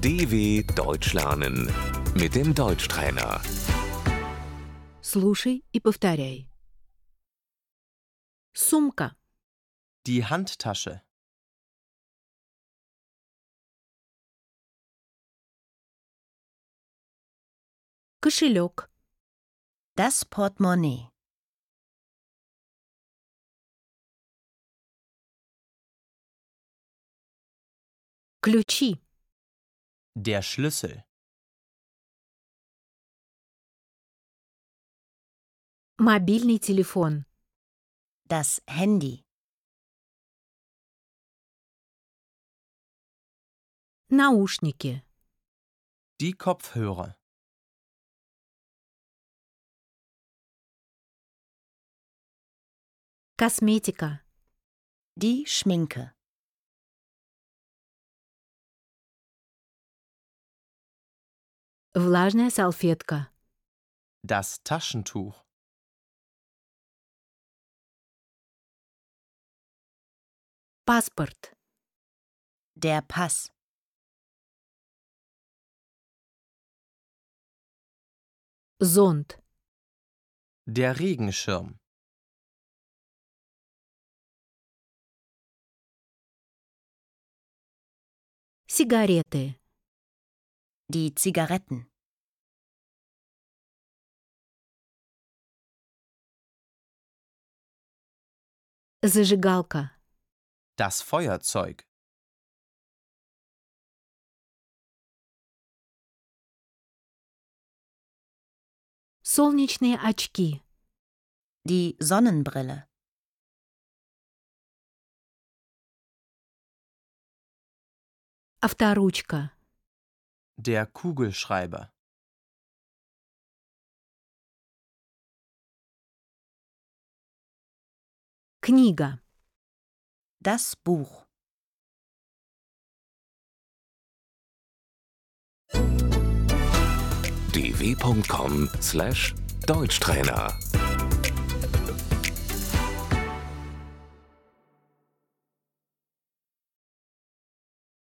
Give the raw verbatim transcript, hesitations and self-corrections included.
D W Deutsch lernen mit dem Deutschtrainer. Слушай и повторяй. Сумка, Die Handtasche. кошелек, Das Portemonnaie. ключи, Der Schlüssel. мобильный телефон, Das Handy. наушники, Die Kopfhörer. косметика, Die Schminke. влажная салфетка, Das Taschentuch. паспорт, Der Pass. зонт, Der Regenschirm. сигареты, Die Zigaretten. зажигалка, Das Feuerzeug. солнечные очки, Die Sonnenbrille. авторучка, Der Kugelschreiber. книга, Das Buch. d w punkt com slash Deutschtrainer